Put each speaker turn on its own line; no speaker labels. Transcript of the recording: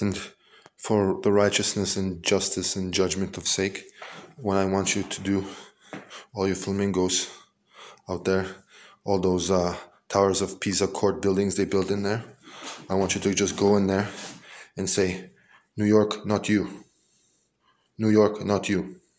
And for the righteousness and justice and judgment of sake, what I want you to do, all you flamingos out there, all those towers of Pisa court buildings they built in there, I want you to just go in there and say, New York, not you. New York, not you.